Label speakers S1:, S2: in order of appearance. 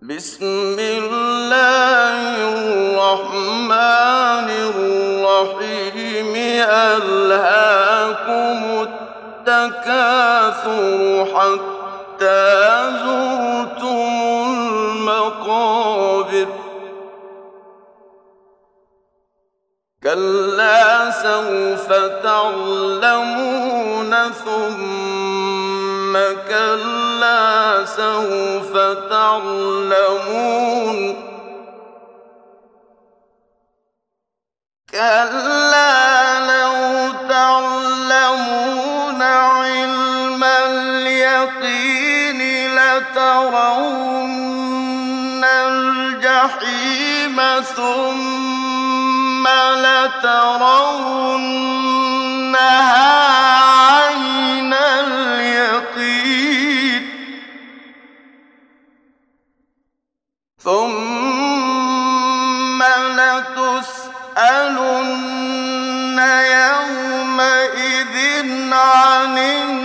S1: بسم الله الرحمن الرحيم ألهاكم التكاثر حتى زرتم المقابر كلا سوف تعلمون ثم كلا سوف تعلمون كلا لو تعلمون علم اليقين لترون الجحيم ثم لترونها عين اليقين ثم لتسألن يومئذ عن